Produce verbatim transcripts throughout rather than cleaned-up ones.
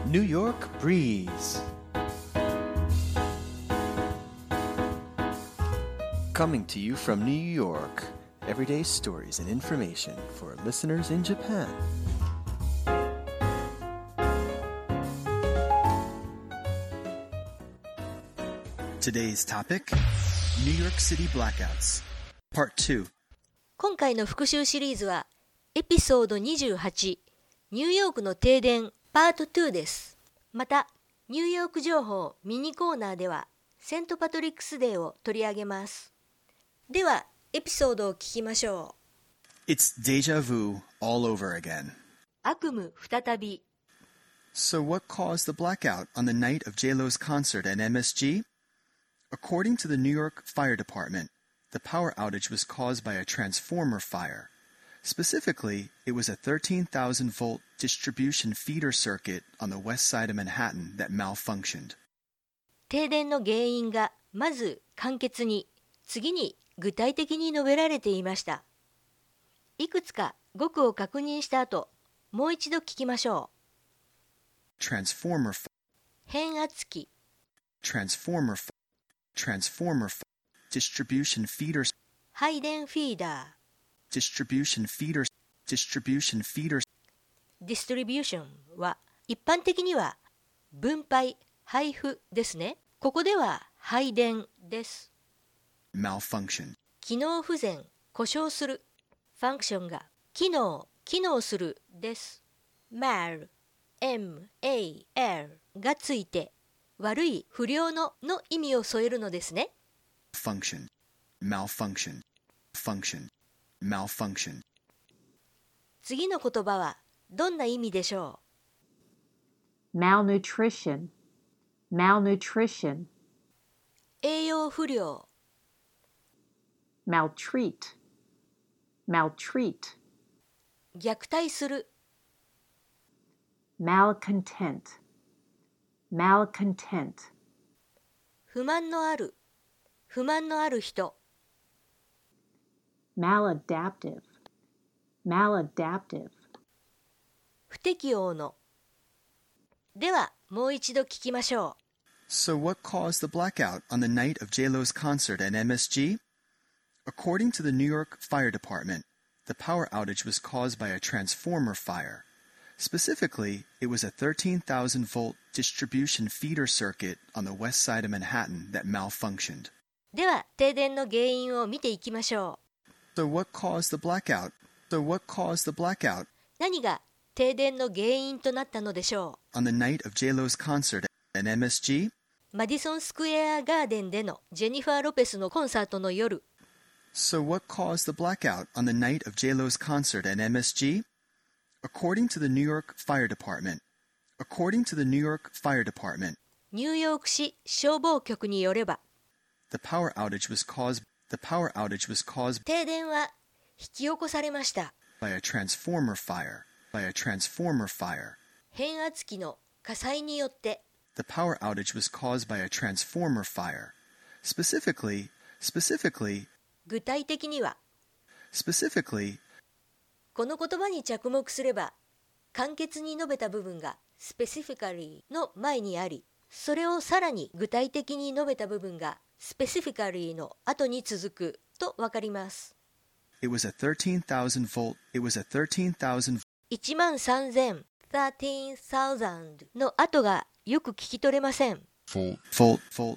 New York Breeze. Coming to you from New York, everyday stories and information for listeners in Japan. Today's topic, New York City Blackouts, Part ツー. 今回の復習シリーズはエピソードにじゅうはち、ニューヨークの停電パートツーです。また、ニューヨーク情報ミニコーナーではセントパトリックスデーを取り上げます。では、エピソードを聞きましょう。It's deja vu all over again. 悪夢再び。 So what caused the blackout on the night of J-Lo's concert at M S G? According to the New York Fire Department, the power outage was caused by a transformer fire. Specifically, it was a thirteen thousand volt distribution feeder circuit on the west side of Manhattan that malfunctioned. 停電の原因がまず簡潔に、次に具体的に述べられていました。いくつか語句を確認した後、もう一度聞きましょう。Transformer 変圧器 Transformer Transformer Distribution feeder 配電フィーダー Distribution feeder Distribution feeder Distribution は一般的には分配、配布ですね。ここでは配電です。 Malfunction 機能不全、故障する。Function が機能、機能するです。mal、M、A、L がついて悪い、不良のの意味を添えるのですね。 Function Malfunction Function Malfunction 次の言葉はどんな意味でしょう？ Malnutrition Malnutrition 栄養不良 Maltreat Maltreat 虐待する Malcontent Malcontent 不満のある、不満のある人 Maladaptive Maladaptive 不適応の。ではもう一度聞きましょう。So what caused the blackout on the night of J-Lo's concert at M S G? According to the New York Fire Department, the power outage was caused by a transformer fire. Specifically, it was a thirteen thousand volt distribution feeder circuit on the west side of Manhattan that malfunctioned. では停電の原因を見ていきましょう。So what caused the blackout? So what caused the blackout? 何が停電の原因となったのでしょう。On the night of J-Lo's concert at M S G? マディソンスクエアガーデンでのジェニファー・ロペスのコンサートの夜。 So what caused the blackout on the night of J-Lo's concert at M S G? According to the New York Fire Department. According to the New York Fire Department. ニューヨーク市消防局によれば。 The power outage was caused. The power outage was caused. 停電は引き起こされました。 By a transformer fire. By a transformer fire. 変圧器の火災によって。 The power outage was caused by a transformer fire. Specifically, specifically. 具体的には。 Specifically. この言葉に着目すれば、簡潔に述べた部分が specifically の前にあり、それをさらに具体的に述べた部分が specifically の後に続くとわかります。 It was a thirteen thousand volt. It was a thirteen thousand. いちまんさんぜん thirteen thousand の後がよく聞き取れません。 Volt, volt, volt.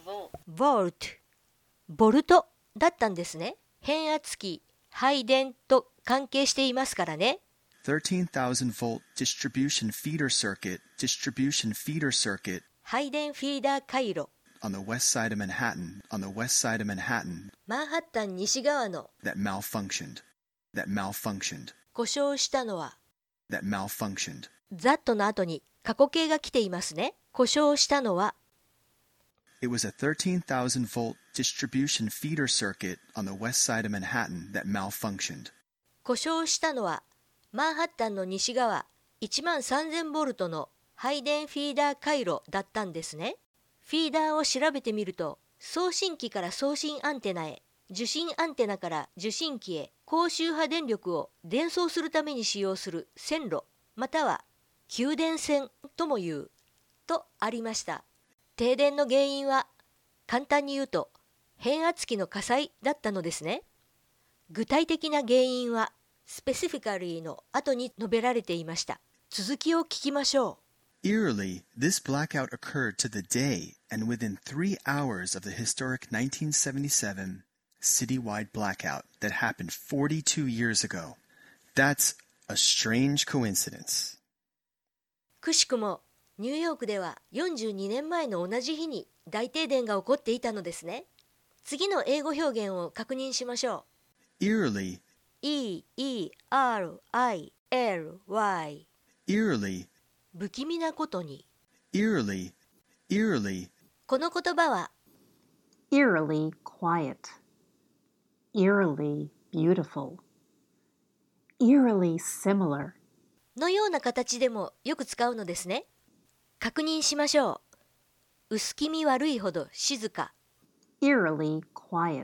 Volt、ボルトだったんですね。変圧器、配電と関係していますからね。 thirteen thousand volt distribution feeder circuit, distribution feeder circuit. 配電フィーダー回路。 On the west side of Manhattan, on the west side of Manhattan. マンハッタン西側の。 That malfunctioned. That malfunctioned. 故障したのは。 That malfunctioned. that の後に過去形が来ていますね。故障したのは。 It was a thirteen thousand volt distribution feeder circuit on the west side of Manhattan that malfunctioned. 故障したのはマンハッタンの西側いちまんさんぜんボルトの配電フィーダー回路だったんですね。フィーダーを調べてみると、送信機から送信アンテナへ、受信アンテナから受信機へ高周波電力を伝送するために使用する線路、または給電線とも言うとありました。停電の原因は簡単に言うと変圧器の火災だったのですね。具体的な原因はスペシフィカリーの後に述べられていました。続きを聞きましょう。Eerily, this blackout occurred to the day and within three hours of the historic nineteen seventy-seven citywide blackout that happened forty-two years ago. That's a strange coincidence. くしくもニューヨークではよんじゅうにねんまえの同じ日に大停電が起こっていたのですね。次の英語表現を確認しましょう。Eerily, E E R I L Y Eerily 不気味なことに Eerily, eerily この言葉は eerily quiet, eerily beautiful, eerily similar のような形でもよく使うのですね。確認しましょう。薄気味悪いほど静か eerily quiet,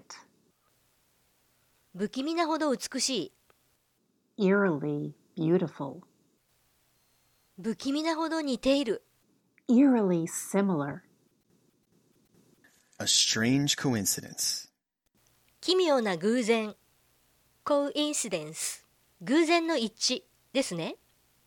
不気味なほど美しい eerily beautiful, 不気味なほど似ている eerily similar, a strange coincidence 奇妙な偶然 coincidence 偶然の一致ですね。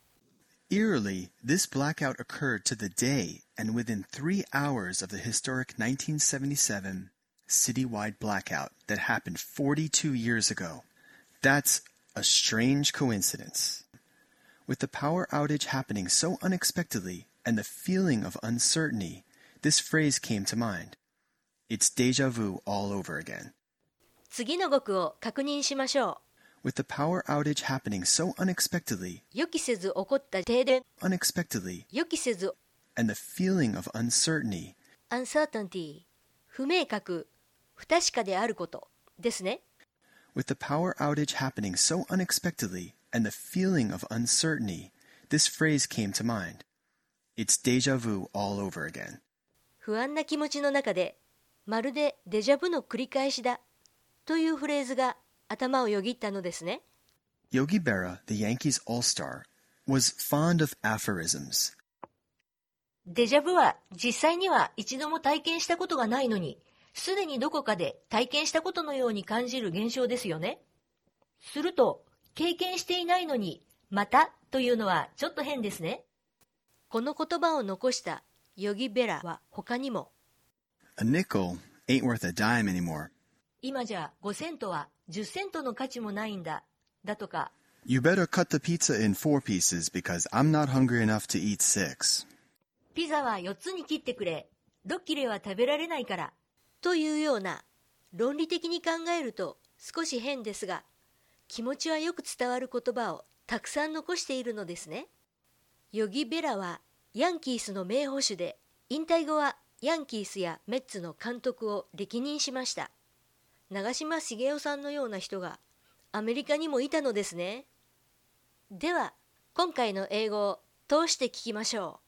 Eerily, this blackout occurred to the day and within three hours of the historic nineteen seventy-seven citywide blackout that happened forty-two years ago. That's a strange coincidence. With the power outage happening so unexpectedly and the feeling of uncertainty, this phrase came to mind. It's déjà vu all over again. 次の語句を確認しましょう。With the power outage happening so unexpectedly, 予期せず起こった停電 unexpectedly, 予期せず and the feeling of uncertainty, uncertainty 不明確不確かであることですね。 With the power outage happening so unexpectedly and the feeling of uncertainty, this phrase came to mind. It's déjà vu all over again. 不安な気持ちの中で、まるでデジャブの繰り返しだというフレーズが頭をよぎったのですね。 Yogi Berra, the Yankees all-star, was fond of aphorisms. デジャブは実際には一度も体験したことがないのに、すでにどこかで体験したことのように感じる現象ですよね。すると、経験していないのに、またというのはちょっと変ですね。この言葉を残したヨギベラは他にも、 A nickel ain't worth a dime anymore. 今じゃごセントはじゅっセントの価値もないんだ、だとか、 You better cut the pizza in four pieces because I'm not hungry enough to eat six. ピザはよっつに切ってくれ、ろっ切れは食べられないから、というような論理的に考えると少し変ですが、気持ちはよく伝わる言葉をたくさん残しているのですね。ヨギベラはヤンキースの名捕手で、引退後はヤンキースやメッツの監督を歴任しました。長嶋茂雄さんのような人がアメリカにもいたのですね。では、今回の英語を通して聞きましょう。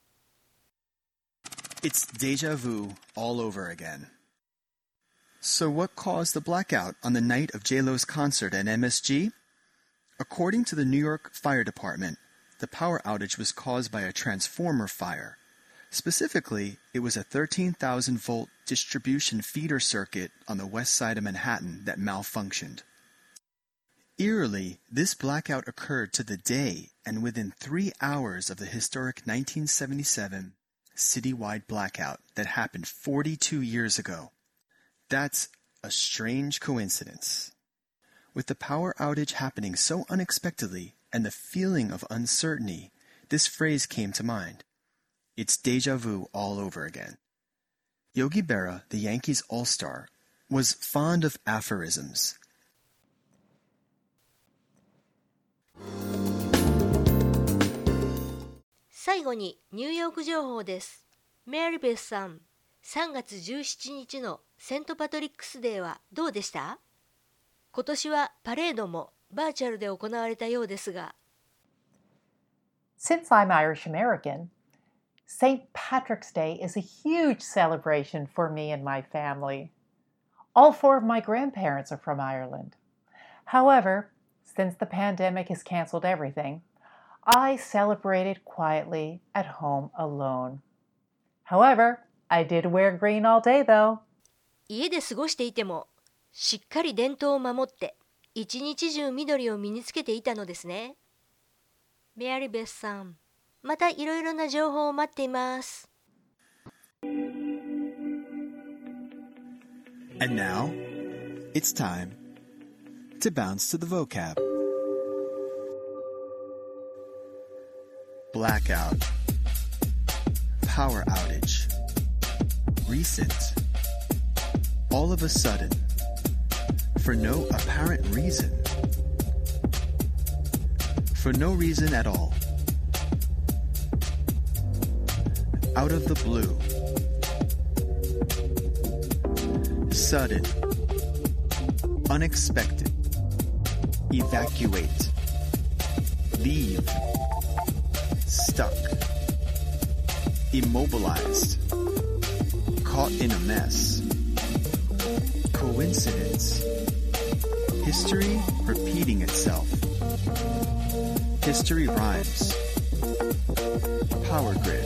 It's déjà vu all over again. So what caused the blackout on the night of J-Lo's concert at M S G? According to the New York Fire Department, the power outage was caused by a transformer fire. Specifically, it was a thirteen thousand volt distribution feeder circuit on the west side of Manhattan that malfunctioned. Eerily, this blackout occurred to the day and within three hours of the historic nineteen seventy-seven citywide blackout that happened forty-two years ago. That's a strange coincidence. With the power outage happening so unexpectedly and the feeling of uncertainty, this phrase came to mind. It's déjà vu all over again. Yogi Berra, the Yankees all-star, was fond of aphorisms. 最後にニューヨーク情報です。メリーベスさん、さんがつじゅうしちにちのセントパトリックスデーはどうでした？今年はパレードもバーチャルで行われたようですが。 Since I'm Irish American, Saint Patrick's Day is a huge celebration for me and my family. All four of my grandparents are from Ireland. However, since the pandemic has canceled everything, I celebrated quietly at home alone. However, I did wear green all day though. 家で過ごしていても、しっかり伝統を守って、一日中緑を身につけていたのですね。メアリーベスさん、またいろいろな情報を待っています。 And now, it's time to bounce to the vocab. Blackout, power outage, recent, all of a sudden, for no apparent reason, for no reason at all, out of the blue, sudden, unexpected, evacuate, leave, stuck, immobilized, caught in a mess, coincidence, history repeating itself, history rhymes, power grid.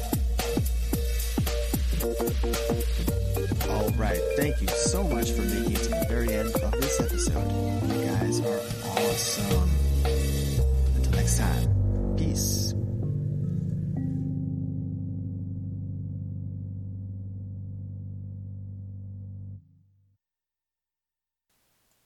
All right, thank you so much for making it to the very end of this episode. You guys are awesome. Until next time, peace.